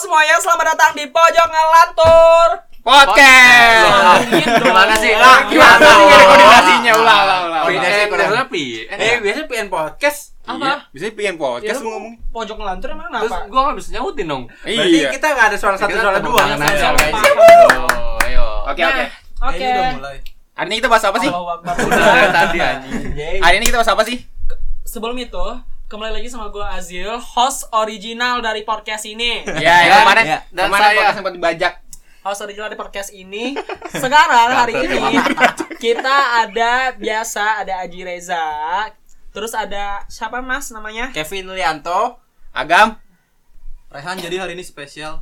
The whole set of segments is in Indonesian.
semuanya, selamat datang di Pojok Ngelantur Podcast. Gimana sih? Gimana sih koordinasinya? Ulang. Biasanya PN podcast. Apa? Biasanya pengen podcast lu ngomong. Pojok Ngelantur emang Terus apa? gua enggak bisa nyautin dong. Berarti kita enggak ada suara satu suara dua. Ayo. Oke. Oke. Hari ini kita bahas apa sih? Allahu Akbar. Udah tadi anjing. Hari ini kita bahas apa sih? Sebelum itu, kembali lagi sama gue Azil, host original dari podcast ini. Ya, kemarin Dan kemarin saya. podcast sempat dibajak. Host original dari podcast ini. Sekarang hari ini kita ada Aji Reza. Terus ada siapa Mas namanya? Kevin Lianto, Agam. Rehan. Jadi hari ini spesial.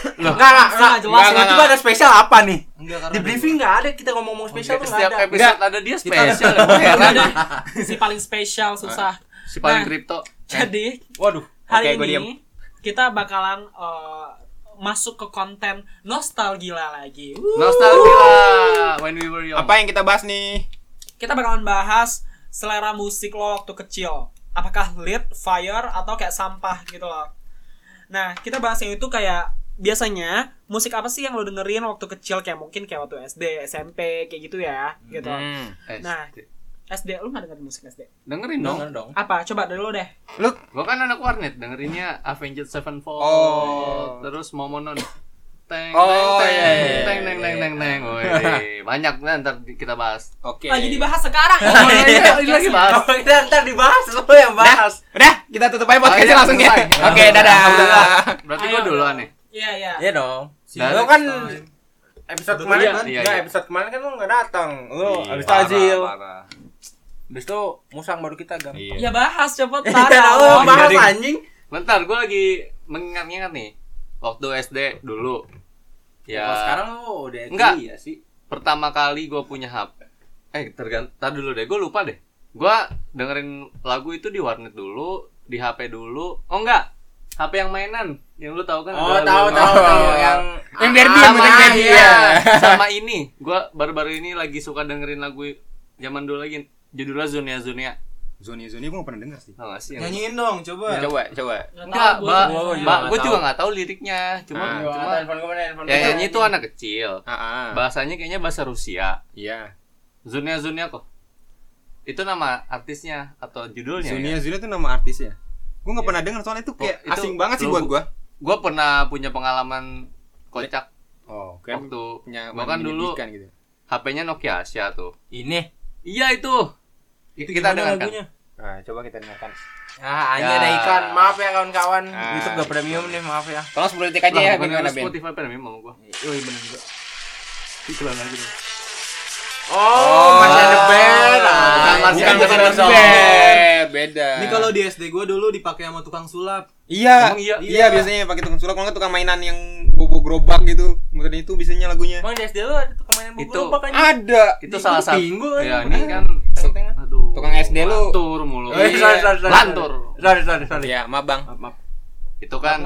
Enggak jelas. Enggak. Tiba ada spesial apa nih? Enggak, Di briefing enggak ada kita ngomong spesial tuh Setiap enggak ada. episode ada dia spesial. Heran. Si paling spesial susah. Si paling Nah, kripto. Jadi Waduh. hari Oke, gua ini kita bakalan masuk ke konten nostalgia lagi. Nostalgia when we were young. Apa yang kita bahas nih? Kita bakalan bahas selera musik lo waktu kecil. Apakah lit, fire, atau kayak sampah gitu loh. Nah, kita bahasnya itu kayak biasanya musik apa sih yang lo dengerin waktu kecil, kayak mungkin kayak waktu SD, SMP, kayak gitu ya, gitu. Nah, SD, lu gak dengerin musik SD? Dengerin dong. Apa? Coba dari lo deh. Lu Gua kan anak warnet, dengerinnya Avenged Sevenfold. Oh. Terus Momonon. Teng Oh, teng iya. teng teng teng teng teng. Woi, banyak ntar kita bahas. oke. Lagi dibahas sekarang. Ini lagi bahas. Oh, kita ntar dibahas lu yang bahas. Udah, kita tutup aja podcastnya iya, langsung ya. selesai. Oke, dadah. Berarti Ayo, gua duluan nih. Iya. Iya dong. Dan- Lu kan episode kemarin Iya, kan? iya, Enggak, iya. episode kemarin kan lu enggak datang. Lu habis Parah, tajil. parah. Habis itu musang baru kita gam. Ya bahas cepet Lu taruh. bahas jadi- anjing. Bentar, gua lagi mengingat-ingat nih. Waktu SD dulu. Ya. Kalau sekarang lu udah Enggak. ya sih. Pertama kali gue punya HP. Tar dulu deh, gue lupa deh. Gue dengerin lagu itu di warnet dulu, di HP dulu. Oh enggak, HP yang mainan, yang lu tahu kan? Oh, ada tahu lagu- yang Yang Derby, sama, yang Derby, iya. ya. Sama ini, gue baru-baru ini lagi suka dengerin lagu zaman dulu lagi. Judulnya Zunia. Zoni gue gak pernah denger sih. Tau gak sih? nyanyiin dong, coba. Coba. Enggak, gua gue nggak juga tahu. nggak tahu liriknya. Cuma Handphone gue mana handphone. ya nyanyi itu anak kecil. Heeh. Bahasanya kayaknya bahasa Rusia. Iya. Zunia kok. Itu nama artisnya atau judulnya? ya? Zunia tuh nama artisnya. Gue gak Iya. pernah denger soalnya itu kayak Oh, itu asing banget sih lu- buat gue. Gue pernah punya pengalaman kocak Oh, waktu punya gua kan dulu menyedihkan gitu. HP-nya Nokia Asia tuh. Ini. Iya itu kita gimana dengarkan. lagunya? Nah, coba kita dengarkan. Ah, Ya. anjir ada iklan. Maaf ya kawan-kawan. Ah. YouTube gak premium nih, maaf ya. Tolong 10 detik aja ya, Bukan gimana ada Ben? Spotify premium sama gua. Oh iya bener juga. Iklan lagi dong. Oh, masih ada band. bukan masih Bukan ada bukan dong. band, beda. Ini kalau di SD gue dulu dipakai sama tukang sulap. Iya, Emang iya? iya biasanya pakai tukang sulap, kalau nggak tukang mainan yang bobo gerobak gitu. Mungkin itu biasanya lagunya. Emang di SD lu ada tukang mainan Itu- bubur apa kan? Ada. Itu salah satu. Pingu kan? Ya ini kan Teng-tengan. aduh. Tukang SD lu. Lantur mulu. Oh, iya, sorry. Lantur. Sorry. Ya, maaf Bang. Maaf. Itu kan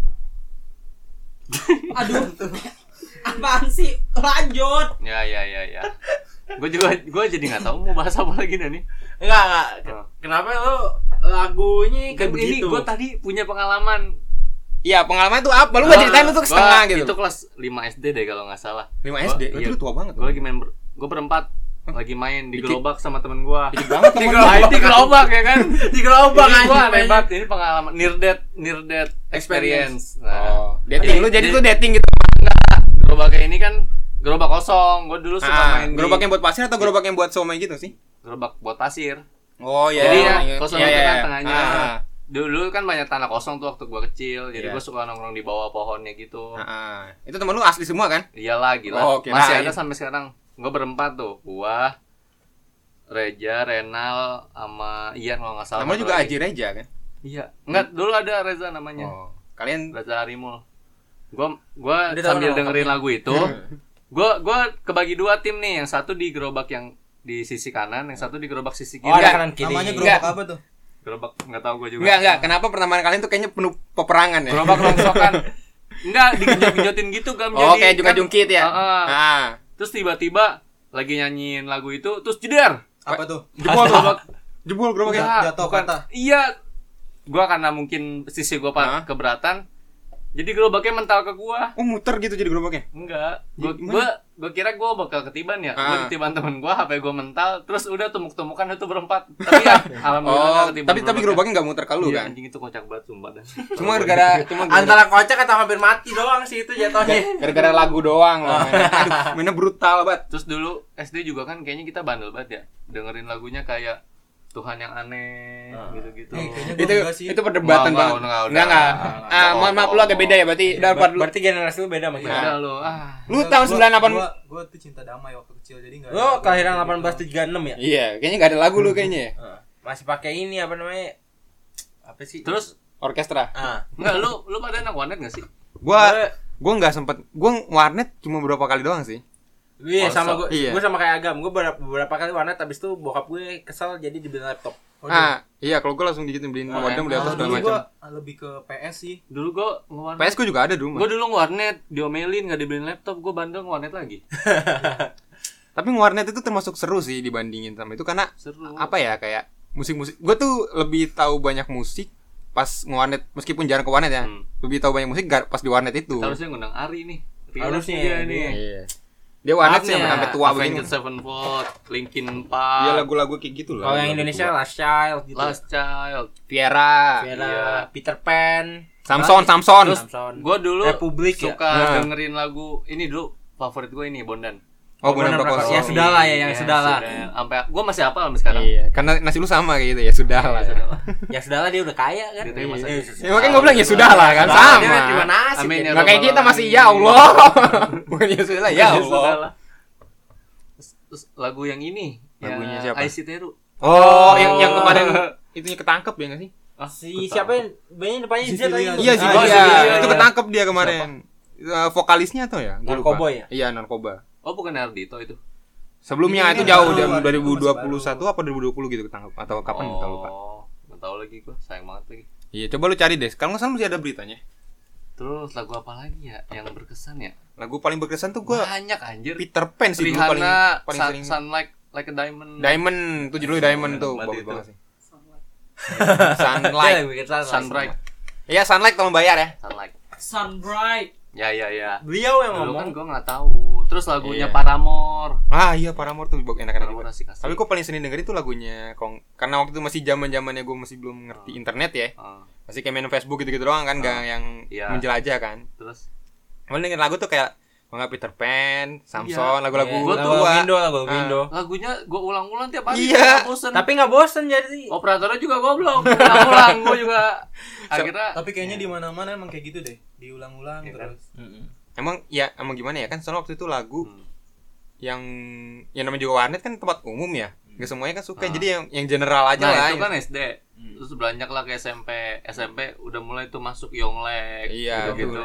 Aduh. Apaan sih? Lanjut. ya. Gue jadi nggak tahu mau bahas apa lagi nih. Enggak. Oh. Kenapa lu lagunya kayak Ini begitu? gue tadi punya pengalaman. Iya, pengalaman itu apa? Lu nggak ceritain itu setengah gitu. Itu kelas 5 SD deh kalau nggak salah. 5 Gua- SD. iya. Itu lu tua banget. Gue lagi main gue berempat lagi main di Dikit. gerobak sama temen gue. Dikit banget temen lu. Di gerobak ya kan. Di gerobak Ini gue anjing. hebat. Ini pengalaman near death experience. Oh, dating lu jadi tuh dating gitu. Gerobaknya ini kan gerobak kosong. Gue dulu suka main Gerobak yang buat pasir atau gerobak yang buat somai gitu sih? gerobak buat pasir. Oh iya. Jadi iya, ya kosong iya, itu iya. kan tengahnya. Ah, Dulu kan banyak tanah kosong tuh waktu gue kecil. Jadi Iya. gue suka nongkrong di bawah pohonnya gitu. Itu temen lu asli semua kan? Iyalah gila. Oh, kirain. Masih ada sampai sekarang. Gue berempat tuh. Gua, Reja, Renal, sama Ian kalau nggak salah. Namanya juga lagi. Aji Reja kan? Iya. Enggak, dulu ada Reza namanya. Oh. Kalian Reza Harimul. Gua Udah tahu sambil nama dengerin lengkapnya. lagu itu, gua kebagi dua tim nih. Yang satu di gerobak yang di sisi kanan, yang satu di gerobak sisi kiri. Oh, ada Enggak. kanan kiri. Namanya Enggak. gerobak apa tuh? Gerobak enggak tahu gua juga. enggak. Kenapa pertemanan kalian tuh kayaknya penuh peperangan ya? Gerobak rongsokan. Enggak, digenjot-genjotin gitu kan. Oh, kayak jungkit ya? Heeh. Terus tiba-tiba lagi nyanyiin lagu itu, terus jeder. Apa tuh? Jebol Gerobak. Jebol gerobaknya. Enggak, Jatuh bukan. patah. Iya. Gua karena mungkin sisi gua Hah? keberatan. Jadi gerobaknya mental ke gua. Oh, muter gitu jadi gerobaknya. Enggak. Gimana? Gua kira gua bakal ketiban ya. Ah. Gua ketiban temen gua, HP gua mental, terus udah tumuk-tumukan itu berempat. Tapi ya alhamdulillah Oh, nggak ketiban. tapi gerobaknya enggak muter ke lu Iya, kan? anjing itu kocak banget sumpah dah. Cuma gara-gara Antara kocak atau hampir mati doang sih itu jatuhnya. gara-gara lagu doang loh. Aduh, mainnya brutal banget. Terus dulu SD juga kan kayaknya kita bandel banget ya. Dengerin lagunya kayak Tuhan yang aneh gitu-gitu. Kayaknya Itu gua enggak sih. itu perdebatan Enggak, banget. enggak. Enggak. Mohon maaf lu agak beda ya berarti. Udah part lu. Berarti generasi lu beda sama kita. Udah lu Lu tahun 98. Gua tuh cinta damai waktu kecil jadi enggak. Lo kelahiran 1836 ya? Iya, kayaknya enggak ada lagu lu kayaknya ya. Masih pakai ini apa namanya? Apa sih? Terus Orkestra. enggak lu pada anak warnet enggak sih? Gua enggak sempet. Gua warnet cuma beberapa kali doang sih. Iya sama gue. Iya. Gue sama kayak Agam. Gue beberapa kali warnet habis itu bokap gue kesel jadi dibeliin laptop. Iya, kalau gua langsung digituin beliin modem beli apa segala Dulu macam. gua lebih ke PS sih. Dulu gua ngewarnet. PS gua juga ada dulu. Gua dulu ngewarnet, diomelin enggak dibeliin laptop, gua bandel ngewarnet lagi. Tapi warnet itu termasuk seru sih dibandingin sama itu karena Seru. apa ya kayak musik-musik. Gua tuh lebih tahu banyak musik pas ngewarnet meskipun jarang ke warnet ya. Lebih tahu banyak musik pas di warnet itu. Harusnya ngundang Ari nih. Harusnya dia ya, nih. Iya. Dia warnet sih sampai tua begini. Avenged Sevenfold, Linkin Dia Park, lagu-lagu kayak gitu lah. Kalau yang Indonesia Last Child gitu. Last Child. Viera, Vera, Peter Pan, Samson. Terus Samson. gua dulu Republik ya? suka dengerin lagu ini dulu. Favorit gue ini Bondan. Oh, Bondan Prakoso. Ya sudah lah ya, yang sudah lah. Sampai gua masih hafal sampai sekarang. Iya, karena nasi lu sama kayak gitu ya sudah lah. Ya, sudah lah. Ya sudah lah dia udah kaya kan. Diterima saja. Ya makanya gua bilang ya sudah lah kan Dia sama. cuma nasib. Amin ya. ya. Nggak kayak kita masih ya Allah. Bukan ya sudah lah ya Ya Allah. sudah lah. Terus lagu yang ini, Lagunya yang siapa? Aisy Teru. Oh, yang kemarin itunya ketangkep ya nggak sih? Si siapa yang banyak depannya Z tadi? Iya sih, Oh, iya. iya. Itu ketangkep dia kemarin. Vokalisnya tuh ya? Gua lupa. Narkoba ya? Iya, narkoba. Oh, bukan Ardito itu. Sebelumnya Ini itu jauh baru, dari baru, 2021 apa 2020 gitu ketangkep atau kapan kita lupa. Nggak tahu lagi gua, sayang banget lagi. Iya, coba lu cari deh. Kalau nggak salah masih ada beritanya. Terus lagu apa lagi ya yang berkesan ya? Lagu paling berkesan tuh gua Banyak anjir. Peter Pan sih dulu paling Rihanna, sering. Sun like a Diamond. Diamond tuh judulnya Diamond tuh Banget bagus itu. banget sih. Dia Sunlight. yang bikin salah. Sunbright. Iya, Sunlight tolong bayar ya. Sunlight. Sunbright. Ya. Beliau yang Dulu kan ngomong. gua nggak tahu. Terus lagunya Iya. Paramore. Ah iya, Paramore tuh enak-enak Paramore banget. asik-asik. Tapi kok paling sering dengerin tuh lagunya karena waktu itu masih zaman-zamannya gue masih belum ngerti internet ya. Masih kayak main Facebook gitu-gitu doang kan, nggak yang Iya. menjelajah kan. Terus Paling dengerin lagu tuh kayak nggak Peter Pan, Samson, lagu-lagu Gua tuh tua. Indo, lagu Indo. lagunya gua ulang-ulang tiap hari. Iya. Nggak bosen. Tapi enggak bosen jadi. Operatornya juga goblok. Ulang-ulang gua juga akhirnya Tapi kayaknya di mana-mana emang kayak gitu deh. Diulang-ulang Iya kan? terus. Emang gimana ya kan soalnya waktu itu lagu yang namanya juga warnet kan tempat umum ya. Gak semuanya kan suka. Jadi yang general aja lah. Nah, itu kan SD. Terus beranjak lah ke SMP udah mulai tuh masuk Yonglek. Iya, gitu.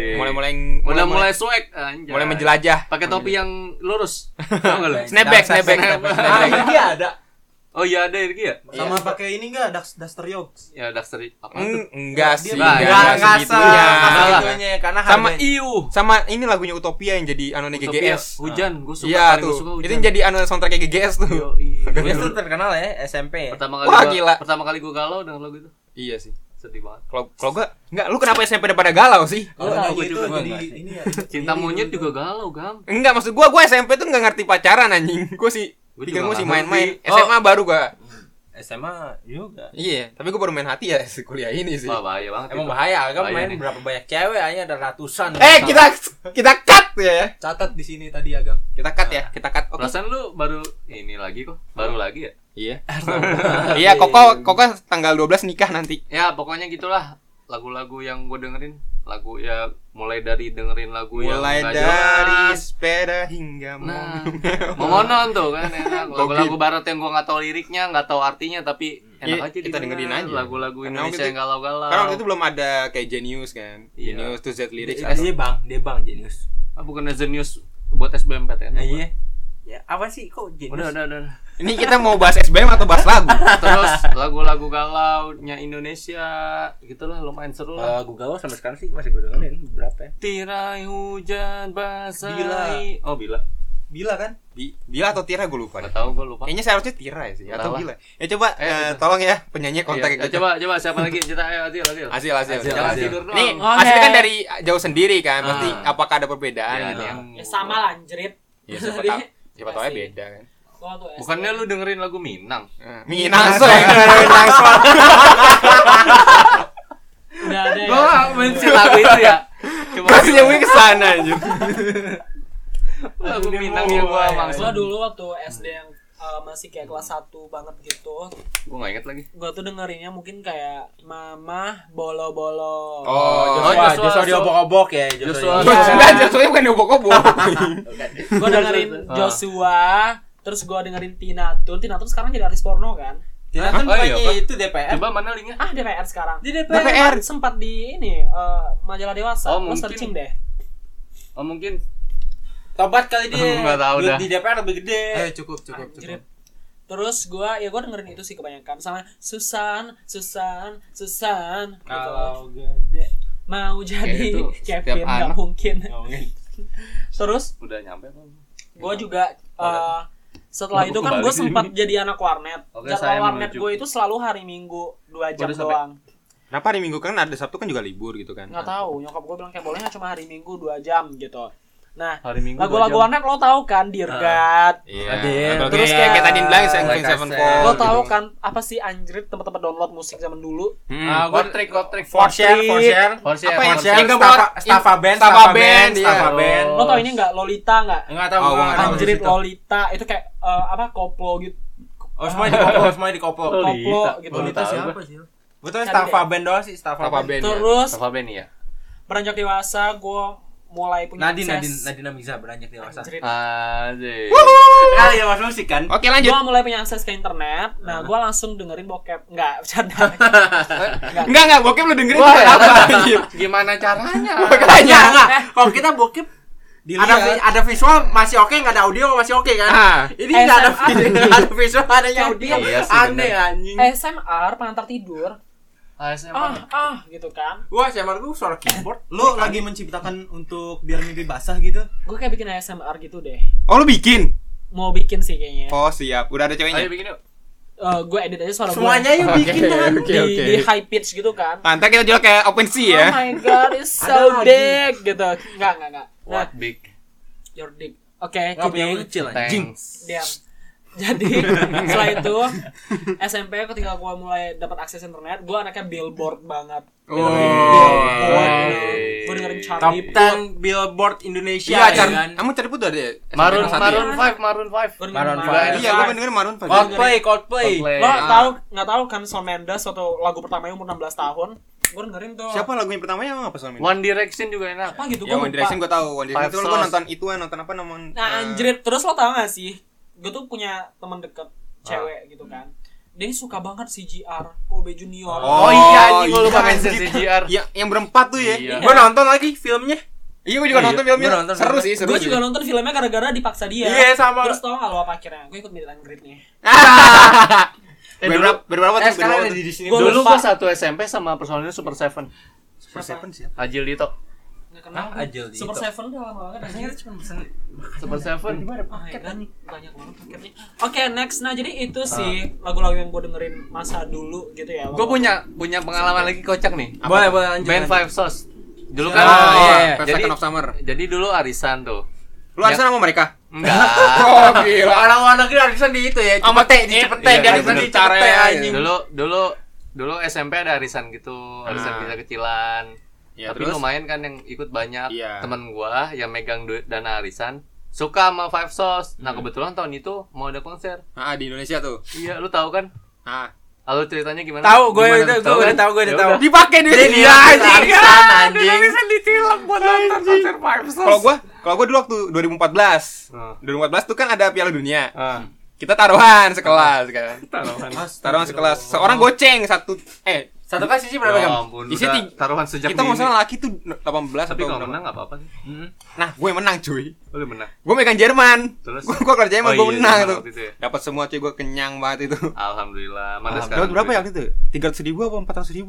mulai Swag anjay. mulai menjelajah. Pakai topi yang lurus. Tahu enggak lu? Snapback. Ah, ini dia ada. Oh iya ada Irgi ya? Sama pakai ini enggak Duster Yogs. Ya Daxter apa tuh? Enggak sih. Nah, enggak segitunya. segitunya karena Sama harga- sama ini lagunya Utopia yang jadi anone Utopia. GGS. Hujan, gua suka. Iya paling tuh. gua suka Itu hujan. yang jadi anone soundtrack GGS tuh. Dia tuh terkenal ya SMP ya. Pertama kali gua galau dengan lagu itu. Iya sih. Sedih banget. Kalau gua enggak, lu kenapa SMP pada galau sih? Kalau tahu, nyanyi gua itu juga jadi enggak. ini ya. Cinta ini monyet dulu. juga galau, Gam. Enggak, maksud gua SMP tuh enggak ngerti pacaran anjing. Gua sih Gua pikir juga gua sih nggak main-main. ngerti. SMA baru gua. SMA juga. Iya, tapi gua baru main hati ya kuliah ini sih. Wah, bahaya banget. Emang itu. bahaya, Agam Bahaya main nih. berapa banyak cewek hanya ada ratusan. Kita cut ya. Catat di sini tadi Agam. Kita cut ya, kita cut. Oke. Perasaan lu baru ini lagi kok. Baru lagi ya? Iya. Iya, Koko tanggal 12 nikah nanti. Ya, pokoknya gitulah. Lagu-lagu yang gue dengerin, lagu ya mulai dari dengerin lagu Mulai yang nggak dari jelas. sepeda hingga Nah, mobil. Momonon tuh kan enak. Lagu-lagu barat yang gue nggak tahu liriknya, nggak tahu artinya, tapi Iya, enak aja kita dengerin aja. Lagu-lagu Karena Indonesia waktu yang galau-galau. Karena waktu itu belum ada kayak Genius kan. Iya. Genius to Z lyrics. Dia bang Genius. Bukan Zenius buat SBMPTN. Iya. Ya, apa sih kok Genius? Udah. Ini kita mau bahas SBM atau bahas lagu? Terus lagu-lagu galaunya Indonesia, gitulah lumayan seru lah. Lagu galau sampai sekarang sih masih gue dengerin berapa ya? Tirai hujan Bila. basahi. Oh, bila. Bila kan? Bila atau Tira gue lupa. Enggak tahu, gue lupa. Kayaknya seharusnya Tira ya sih atau Salah. Bila. Ya coba tolong ya penyanyi kontak Iya, gitu. coba siapa lagi? Kita ayo Adil. Hasil. Jangan tidur doang. Nih, Oke. hasilnya kan dari jauh sendiri kan. Pasti apakah ada perbedaan Ya, gitu ya? Ya sama lah anjrit. Ya siapa Jadi, tahu. Siapa tahu ya pasti. beda kan. Gua tuh SD. Bukannya lu dengerin lagu Minang? Minang so ya. Minang so. udah ada ya. Gua mention lagu itu ya. Cuma Masih nyambungin ke sana aja. lagu Minang yang gua Gua maksud. dulu waktu SD yang masih kayak kelas 1 banget gitu. Gua enggak inget lagi. Gua tuh dengerinnya mungkin kayak Mama Bolo-bolo. Joshua diobok-obok ya, Joshua. Enggak, Joshua bukan obok-obok. Gua dengerin Joshua, terus gua dengerin Tina Tun sekarang jadi artis porno kan. Tina Hah? Tun Oh, iya, bukannya Pak. itu DPR. Coba mana linknya? DPR sekarang. Di DPR. DPR. Sempat di ini majalah dewasa. Oh, Lo mungkin. searching deh. Oh mungkin. Tobat kali dia. Nggak tahu dah. Di DPR lebih gede. Cukup. Anjrit. Terus gua dengerin itu sih kebanyakan sama Susan gitu. Kalau gede. Mau jadi Kayak itu setiap Kevin nggak anak. mungkin. Terus Udah nyampe apa? gue juga setelah Aku itu kan kembali. gue sempat jadi anak warnet. Oke, saya Jadwal warnet menuju. gue itu selalu hari Minggu 2 jam Udah sampai. doang. Kenapa hari Minggu kan ada Sabtu kan juga libur gitu kan? Nggak tahu, nyokap gue bilang kayak bolehnya cuma hari Minggu 2 jam gitu. Nah, Hari Minggu. lagu-lagu 2 jam. warnet lo tahu kan, Dear God. Iya. Ada. Terus kayak tadi bilang Seven Like I Sevenfold. said. Lo gitu. tahu kan apa sih anjrit tempat-tempat download musik zaman dulu? Gua trick. For share. Apa ya? Forshare. Yang Staffa Band. iya. Lo tau ini nggak Lolita nggak? Enggak tahu Oh, gua gua nggak tahu. Anjrit Situ. Lolita itu kayak koplo gitu. Oh, semuanya di koplo. Lolita. Koplo gitu. Lolita tahu siapa gua. sih? Gua tahu Cari Staffa deh. Band doang sih, Staffa Apa Band. band? Terus Apa band ya? beranjak dewasa gue mulai punya akses. Nadine Amiza beranjak dewasa. Anjrit. Anjir. Kan ya Mas musik kan? Oke lanjut. Gue mulai punya akses ke internet. Nah, gue langsung dengerin bokep. Enggak, bercanda. Enggak, bokep lu dengerin Wah, juga apa? Gimana caranya? Makanya. Enggak. Kalau kita bokep ada visual masih oke, enggak ada audio masih oke kan? Ah. Ini enggak ada SMR. video, nggak ada visual, adanya audio. Iya sih, Aneh bener. anjing. SMR pengantar tidur. ASMR. Gitu kan. Gua SMR gua suara keyboard. Lu lagi menciptakan untuk biar mimpi basah gitu? Gue kayak bikin ASMR gitu deh. Oh lu bikin? Mau bikin sih kayaknya. Oh siap. Udah ada Ayo ceweknya. bikin yuk. Gue edit aja suara Semuanya gue. yuk bikin kan. Di high pitch gitu kan. Pantai kita jual kayak OpenSea ya. Oh my god, it's Ada so lagi. big gitu. Enggak. Nah, What big? your dick. Oke, Enggak punya kidding. kecil anjing. Thanks. Diam. Jadi setelah itu SMP ketika gue mulai dapat akses internet, gue anaknya billboard banget. Oh. Gue dengerin Top Charlie 10 Billboard Indonesia Iya, ya kan. kamu cari pun ada ya? Maroon SMP kelas 1 ya? Maroon 5. Gue Maroon dengerin five. Iya, gua dengerin Maroon 5. Coldplay. Lo tahu nggak tahu kan Shawn Mendes waktu lagu pertamanya umur 16 tahun? Gue dengerin tuh. Siapa lagu yang pertamanya emang apa soalnya? One Direction juga enak. Apa gitu? Ya Gue One Direction gua tahu. One Direction Five itu gua Sauce. nonton ituan, nonton apa namanya? Nah anjrit, terus lo tau gak sih? Gue tuh punya teman deket cewek gitu kan. Dia ini suka banget CGR, Kobe Junior. Oh iya, anjing, gua lupa iya, mention anjing. CGR. Yang berempat tuh ya. Iya. Gua nonton lagi filmnya. Iya, gua juga nonton filmnya. Gua nonton Seru filmnya. sih, seru Gue sih. juga nonton filmnya gara-gara dipaksa dia. Iya, sama. Terus tau gak lo apa akhirnya? Gue ikut meet and greet nih. Berberapa tuh? Sekarang Berberapa ada tuh? di sini. Gua Dulu lupa. gua satu SMP sama personilnya Super Seven. Super Seven sih. Ajil Dito. Gak kenal. Ah, Ajil Dito. Super Seven udah lama banget. Rasanya kita cuma pesen Super Seven. Paket kan banyak banget paketnya. Oke, next. Nah, jadi itu sih lagu-lagu yang gue dengerin masa dulu gitu ya. Gue punya pengalaman lagi kocak nih. Boleh lanjut. Band Five Sauce. Dulu kan Oh, iya. Five jadi Seconds of Summer. jadi dulu arisan tuh. Lu arisan sama mereka? Enggak. Oh, gila. Orang luar negeri arisan di itu ya. Sama Cepete, di Cepete, Iya, dia bener. arisan di Cepete anjing. Dulu SMP ada arisan gitu, arisan kecil-kecilan. Ya, Tapi terus? lumayan kan yang ikut banyak. Iya. Temen gua yang megang duit dana arisan suka sama Five Sauce. Nah, kebetulan tahun itu mau ada konser. Ah, di Indonesia tuh. Iya, lu tahu kan? Ah. Lalu ceritanya gimana? Tahu gue Gimana? udah udah tahu gue udah Ya tahu. udah. Dipakai duit Jadi dia arisan anjing. ditilang buat nonton konser Five Sauce. Kalau gua dulu waktu 2014. Ah. 2014 tuh kan ada Piala Dunia. Ah. Kita taruhan sekelas kan. Taruhan. Sekelas. Seorang goceng satu Satu kasih sih berapa Ya jam? ampun, Isinya udah taruhan sejak kita dini. masalah laki tuh 18 Tapi atau kalau berapa. menang enggak apa-apa sih. Nah, gue yang menang cuy. Lu menang. Gue megang Jerman. Terus? Gue keluar Jerman, gue Oh, iya, menang Jerman tuh. waktu itu ya? Dapat semua cuy, gue kenyang banget itu. Alhamdulillah. Mana Dapat sekarang? berapa ya duitnya? waktu itu? 300.000 apa 400.000 tau gue. lupa. Lumayan. SMP 400.000 Lumayan. bisa jajan. Iya anjing gue Bisa beli kayak helm itu mah.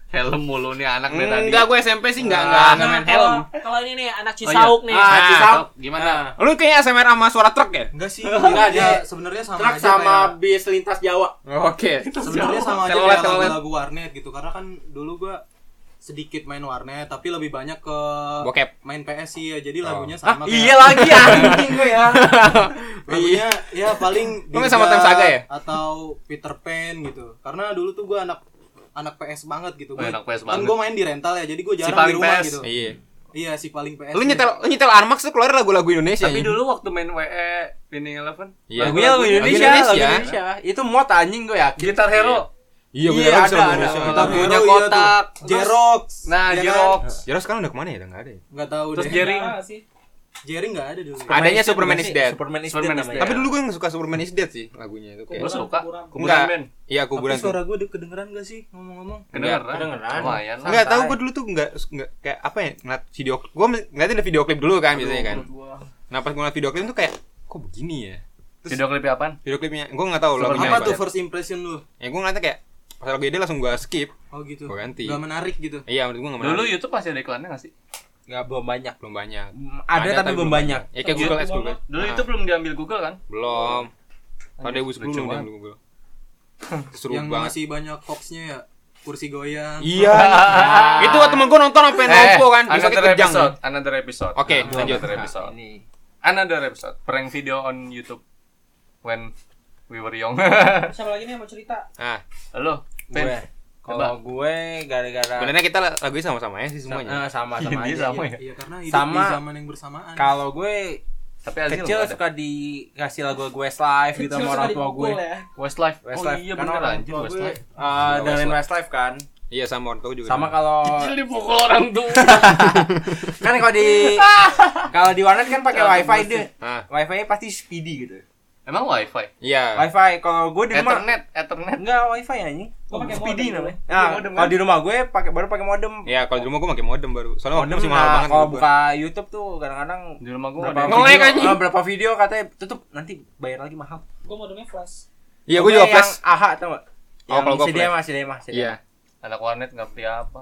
Helm mulu nih anak nih tadi. Enggak, gue SMP sih enggak main helm. Kalau ini nih anak Cisauk nih. Cisauk gimana? Lu kayaknya ASMR sama suara truk ya? Enggak sih. Enggak, Dia dia sebenarnya sama truk aja sama kayak- bis lintas Jawa. Oke. sebenarnya sama aja Telolet, kayak telolet. lagu-lagu warnet gitu. Karena kan dulu gua sedikit main warnet tapi lebih banyak ke Bokep. main PS sih ya. Jadi lagunya sama Iya lagi anjing gue ya. lagunya ya paling Lu main sama Time Saga ya? atau Peter Pan gitu. Karena dulu tuh gua anak PS banget gitu. Oh, anak PS Kan banget. gue main di rental ya, jadi gue Si jarang di paling rumah PS. gitu. Iya. Iya, si paling PS. Lu nyetel Armax tuh keluar lagu-lagu Indonesia. Tapi ya? dulu waktu main WE Winning Eleven, Iya. Lagunya lagu Indonesia, Lagu lagu Indonesia. Itu mod anjing gue yakin. Gitar Hero. Iya, Iya, bener ada. Lagunya Hero, iya kotak. tuh. Jerox. Nah, Ya kan? Jerox. Jeros sekarang udah kemana ya? Udah enggak ada ya? Enggak tahu Terus deh. Jerry. Jerry enggak ada dulu. Adanya Superman is Dead. Superman is Superman Dead is namanya. Tapi dulu gue yang suka Superman is Dead sih lagunya itu Lu kayak. suka? Enggak. Kuburan band. Iya, Tapi kuburan tuh. suara gue kedengeran gak sih ngomong-ngomong? Kedengeran. Lumayan lah. Enggak tahu gue dulu tuh enggak kayak apa ya? Ngeliat video gue ngeliatin video klip dulu kan biasanya kan. Nah, pas gue ngeliat video klip tuh kayak kok begini ya? Video klipnya apaan? Video klipnya gue enggak tahu lagunya Apa tuh first impression lu? Ya gue ngeliatnya kayak pas lagu ide langsung gue skip. Oh gitu. Gua ganti. Gak menarik gitu. Iya, menurut gue enggak Dulu menarik. YouTube masih ada iklannya nggak sih? Enggak belum banyak. Belum banyak. Ada tapi belum banyak. Ya kayak Google Ads Google. Dulu Nah, itu belum diambil Google kan? belum. Pada Lucu 2010 belum banget. yang Google. Seru Yang banget. masih banyak hoaxnya ya. Kursi goyang. Iya. Itu temen gue nonton sampai nopo kan, bisa another kejang. Another episode. Oke, Nah, lanjut. Another episode. Ini. Another episode. Prank video on YouTube when we were young. Siapa lagi nih yang mau cerita? Nah, Halo, Gue. Pen. Kalau gue gara-gara sebenarnya kita lagunya sama-sama ya sih semuanya. sama-sama Ini aja. sama iya. ya? Iya, karena hidup Sama. di zaman yang bersamaan. Kalau gue Tapi Azil kecil nggak ada. suka dikasih lagu Westlife gitu sama orang tua gue. Ya. Westlife. Westlife. Oh iya Karena bener orang anjir tua gue Westlife. dengerin Westlife kan. Iya sama orang tua juga. Sama kalau Kecil dipukul orang tua. kan kalau di warnet kan pakai wifi deh. Ah, Wifi-nya pasti speedy gitu. Emang wifi? iya. Wifi kalau gue di rumah Ethernet. enggak wifi anjing. Gua pakai Speedy modem namanya. dulu. Nah, Modem kalau kan? di rumah gue baru pakai modem. Iya, kalau di rumah gue pakai modem baru. Soalnya Modem masih mahal nah, banget. kalau menurut buka YouTube tuh kadang-kadang Di rumah gua berapa ada. Nge-lag video, anjing. berapa video katanya tutup nanti bayar lagi mahal. Gua modemnya flash. gua. Iya, gue juga flash. Yang AHA tau gak? Oh, kalau gua CDMA, flash. CDMA. Iya. Anak warnet nggak beli apa.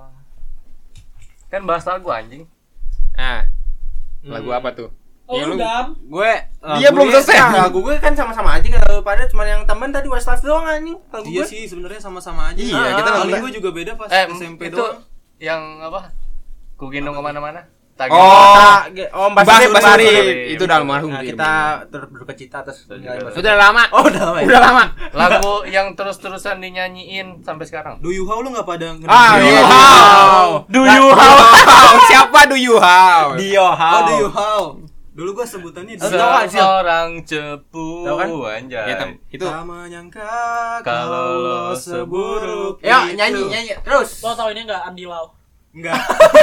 Kan bahas lagu anjing. Ah. Lagu apa tuh? Oh, Yang lu Dam. Gue Dia belum selesai. Lagu gue kan sama-sama aja kalau pada cuma yang temen tadi Westlife doang anjing. Lagu Iya gue. sih, sebenarnya sama-sama aja. Iya, kita paling lagu- gue juga beda pas SMP itu doang. yang apa? Ku gendong kemana-mana. Oh, Mbak Mbak Surip, Surip. Itu udah almarhum Nah, sih. kita berkecita terus ninggalin Mbak Surip. Udah lama. Oh, udah lama. ya? Udah lama. Lagu yang terus-terusan dinyanyiin sampai sekarang. Do You How lu enggak pada ngerti? Ah, Do you you how? how? Do you how? Siapa do you how? Dio how? Oh, Do You How. Dulu gue sebutannya Tahu Dio. kan, Sil? Seorang cepu Tahu kan? anjay. Ya, itu Tak menyangka Kalau lo seburuk Yuk, itu. nyanyi terus. Lo tau ini enggak Andi Lau? Enggak.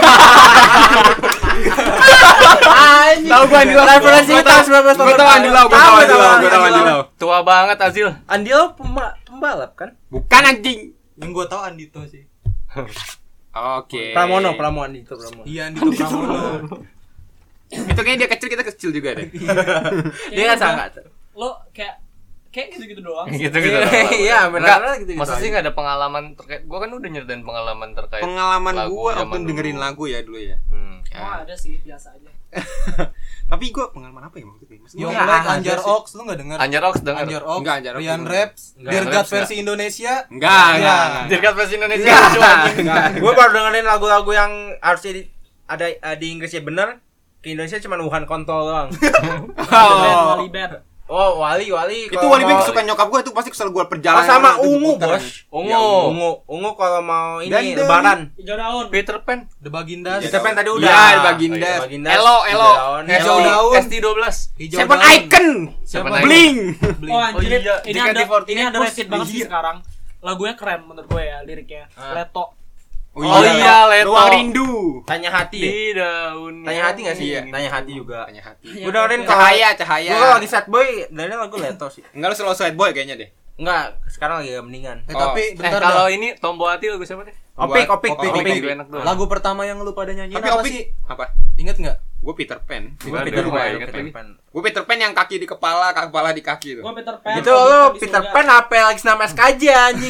Tahu gua Andi Lau. Referensi tahun 1988. Gua tahu Andi Lau, gua tahu Andi Lau, gua tahu Andi Lau. Tua banget Azil. Andi Lau pembalap kan? Bukan anjing. Yang gue tahu Andito sih. Oke. Pramono itu Pramono. Iya, Andito Pramono. Itu kayaknya dia kecil, kita kecil juga deh. Dia kan sangat. Lo kayak gitu-gitu doang. Gitu-gitu. Iya, Enggak, benar gitu. masa sih nggak ada pengalaman terkait? Gua kan udah nyeritain pengalaman terkait Pengalaman lagu gua zaman waktu dulu. dengerin lagu ya dulu ya. Oh, ada sih, biasa aja. Tapi gua pengalaman apa ya maksudnya? Maksudnya Yo, Enggak, like ada Anjar sih. Ox lu enggak denger? Anjar Ox denger. Anjar Ox. Enggak, Anjar Ox Rian denger. Raps. Enggak, Dirgat Raps versi Indonesia. Enggak, Iya. Dirgat versi Indonesia Enggak. lucu anjing. Gue baru dengerin lagu-lagu yang harusnya ada di Inggrisnya bener. Ke Indonesia cuma Wuhan kontol doang. Oh. Wali band. Oh, Wali. Itu kalau Wali Ben mau- kesukaan nyokap gua itu pasti kesel gua Oh, perjalanan. sama itu Ungu, diputer. Bos. Ungu. Ya, Ungu kalau mau ini Dan- lebaran. Hijau daun. Peter Pan. The Bagindas. Kita pen tadi udah. Iya, Bagindas. Oh, iya, Bagindas. Elo, Elo. Hijau daun. ST12. Hijau Seven daun. Icon. Seven Bling. Oh anjir, Oh iya, ini JKT48 ada bos. rated banget sih Iya. sekarang. Lagunya keren menurut gue ya liriknya. Leto. Oh iya, Leto. Ruang Rindu. Tanya hati. Ya? Di daun. Tanya hati enggak sih? Iya. Tanya hati juga. Tanya hati. Iya, Gue dengerin kalau Cahaya. gue kalau lagi sad boy dengerin lagu Leto sih. Enggak, lu selalu sad boy kayaknya deh. Enggak, sekarang lagi agak mendingan. Tapi bentar Kalau dah. ini Tombo Hati lagu siapa deh? Opik. Opik. Lagu enak tuh. Lagu pertama yang lu pada nyanyiin Tapi apa Opik sih? apa? Ingat enggak? Gue Peter Pan. Gua Peter ada, Pan. ingat lagi. Gue Peter Pan yang kaki di kepala di kaki tuh. Gue Peter Pan. Itu lo Peter Pan apa lagi nama SKJ anjing.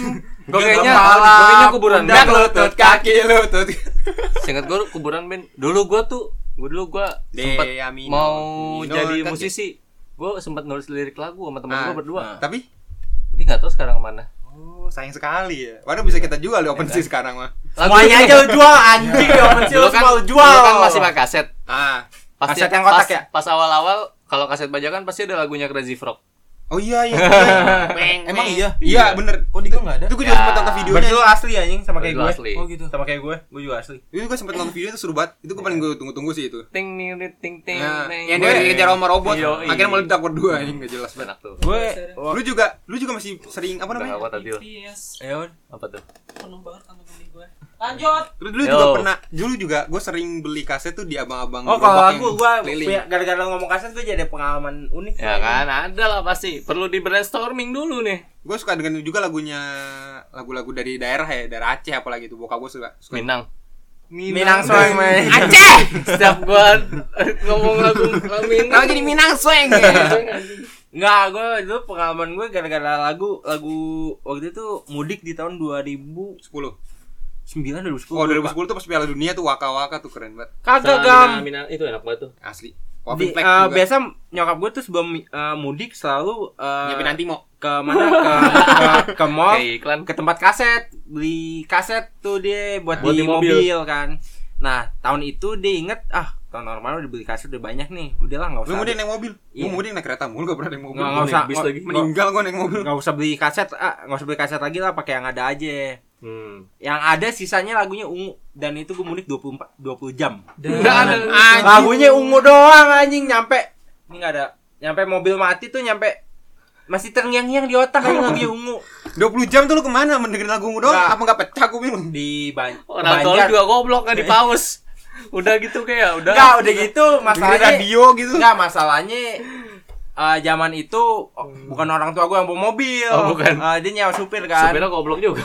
Gue kayaknya kuburan Pundak, band. lutut, kaki, lutut. Seingat gue kuburan band. Dulu gue sempet Amino, mau Amino, jadi kan musisi. Gue sempat nulis lirik lagu sama teman gue berdua. Tapi Tapi nggak tahu sekarang kemana. sayang sekali ya. Padahal bisa kita jual di OpenSea sekarang mah. Semuanya aja lu jual anjing di OpenSea lu semua lu jual. Dulu kan masih pakai kaset. Kaset yang kotak ya? Pas awal-awal kalau kaset bajakan pasti ada lagunya Crazy Frog. Oh iya. Emang iya? Iya, bener. Kok di gua enggak ada? Itu gue juga sempet nonton videonya. Berarti lu asli anjing sama kayak Lu gue. asli. Oh gitu. Sama kayak gue juga asli. Itu gue sempet nonton video itu seru banget. Itu gue paling gue tunggu-tunggu sih itu. Ting ting ting ting. Nah, ting. yang dia dikejar sama robot, Yoi. akhirnya meledak berdua ini enggak jelas banget. Enak tuh. Gue Lu juga masih sering apa Udah namanya? apa tadi lo? Yes. ya Apa tuh? Penuh banget kantong kemih gue. Lanjut. Dulu juga gue sering beli kaset tuh di abang-abang Oh kalau gerobak lagu yang gue keliling. gara-gara ngomong kaset gue jadi ada pengalaman unik. Ya kan, ada lah pasti. Perlu di brainstorming dulu nih. Gue suka dengan juga lagu-lagu dari daerah ya, daerah Aceh apalagi itu. Bokap gue suka. Minang. Minang Sweng main. Aceh. Setiap gua ngomong lagu Minang. Kalau jadi Minang Sweng. Enggak, gue itu pengalaman gue gara-gara lagu waktu itu mudik di tahun 2009 2010. Oh 2010 tuh pas Piala Dunia tuh Waka-Waka tuh keren banget. Kagak gam. Minang itu enak banget tuh. Asli. Di, Wafin Fleck juga. biasa nyokap gue tuh sebelum mudik selalu Nyiapin Antimo. ke mana ke mall Kayak iklan. ke tempat kaset beli kaset tuh dia buat Buat di di mobil. mobil kan. Nah tahun itu dia inget tahun normal udah beli kaset udah banyak nih, udahlah nggak Lu usah mau naik mobil? Iya. Gua mau naik kereta mulu gak pernah naik mobil. nggak usah bis lagi. Meninggal gua naik mobil. nggak usah beli kaset lagi lah, pakai yang ada aja. Yang ada sisanya lagunya ungu, dan itu gue mudik 20 jam. Enggak ada. Lagunya ungu doang anjing, nyampe ini nggak ada, nyampe mobil mati tuh, nyampe masih terngiang-ngiang di otak aja lagunya ungu. 20 jam tuh lu kemana mendengarin lagu ungu doang? Nggak. Apa enggak pecah gua bingung. Di Orang tua juga goblok kan di pause. Udah gitu kayak udah. Enggak, udah gitu Dengerin masalahnya radio gitu. Enggak, masalahnya zaman itu bukan orang tua gue yang bawa mobil. Oh, bukan. Dia nyewa supir kan. Supirnya goblok juga.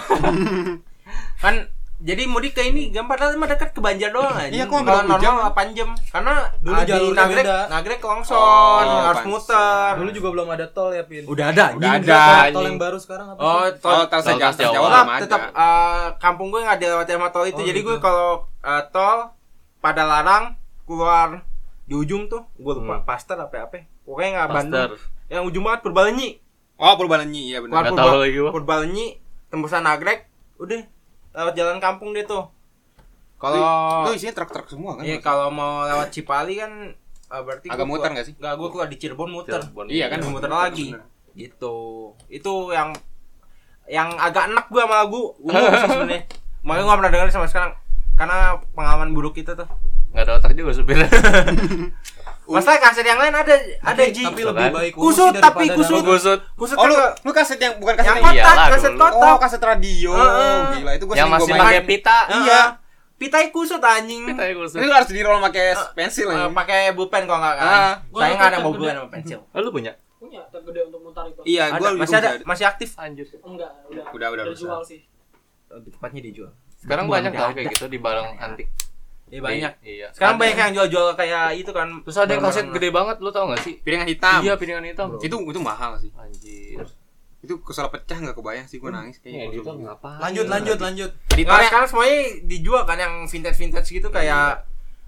Kan jadi mudik ke ini gampang, mah dekat ke Banjar doang aja. Iya, kok kalau 20 jam? normal 8 jam. Karena Dulu di jalurnya beda. Nagrek longsor, Oh, harus pantes. muter. Dulu juga belum ada tol ya, Pin. Udah ada. Udah anjing. ada. Tol anjing. yang baru sekarang apa Oh, sih? Tol Tol Jawa Trans Jawa. Jawa tetap, belum tetap ada. kampung gue nggak dilewati sama tol itu. Oh, Jadi gitu. gue kalau tol pada larang keluar di ujung tuh, gue lupa Pasteur apa. Pokoknya nggak Bandung. Yang ujung banget Purbalenyi. Oh, Purbalenyi, iya benar. Nggak tahu lagi gua. Purbalenyi, tembusan Nagrek, udah lewat jalan kampung dia tuh. Itu Kalau isinya truk-truk semua kan? iya, kalau mau lewat Cipali kan berarti Agak gua muter keluar- nggak sih? Nggak, gue keluar di Cirebon muter. Iya kan, Muter muter lagi. bener. Gitu. Itu yang agak enak gue sama lagu ungu sih sebenarnya. Makanya gue gak pernah dengerin sampai sekarang karena pengalaman buruk itu tuh. Enggak ada otak juga supirnya. Masalah kaset yang lain ada Ji. Tapi Tuh lebih kan. baik Kusut, ungu sih tapi daripada kusut. daun. Gusut. Kusut Oh, kan lu kaset yang bukan kaset yang yang kotak, Iyalah kaset dulu. kotak. Oh, kaset radio. Heeh. Gila, itu gua Yang sering masih gua main. pakai pita. Iya. Pitai kusut anjing. Pita yang gusut. Ini lu harus di roll pakai pensil ya. Pakai pulpen kalau enggak kan. Gua Saya ada enggak ada tab bawa gede. pulpen sama pensil. Oh, lu punya? Punya tab gede untuk mutar itu. Iya, gua Ada, masih ada, masih aktif. Anjir. Enggak, Udah udah rusak. jual sih. Lebih tepatnya dijual. Sekarang Bukan banyak nggak tau ada. kayak gitu di barang antik. Iya banyak. Iya. Sekarang Ada. banyak yang jual-jual kayak itu kan. Terus ada yang kaset gede banget, lu tau gak sih? Piringan hitam. Iya, piringan hitam. Itu mahal sih. Anjir. Itu kesel pecah enggak kebayang sih gua nangis Ini kayaknya. editor ngapain? Lanjut. Nah, Editornya sekarang semuanya dijual kan yang vintage gitu kayak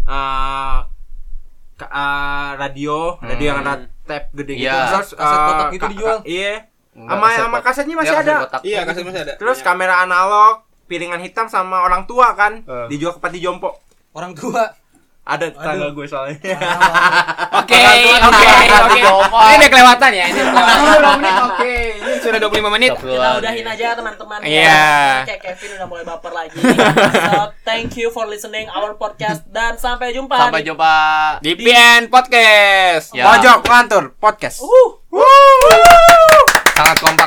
radio yang ada tape gede gitu. Iya. Terus Kaset kotak itu dijual. Iya. Enggak, Sama kaset kasetnya masih Iya, kaset ada. kotak. iya, kaset masih ada. Terus kamera analog, piringan hitam sama orang tua kan dijual ke Pati Jompo. Orang tua. Ada tetangga gue soalnya. Oke. Ini udah kelewatan ya. Ini Oke. Ini sudah 25 menit. Kita udahin aja teman-teman. Iya. Kayak Kevin udah mulai baper lagi. So, thank you for listening our podcast dan sampai jumpa. Sampai jumpa. Di PN Podcast. Ya. Pojok ngantur podcast. Sangat kompak.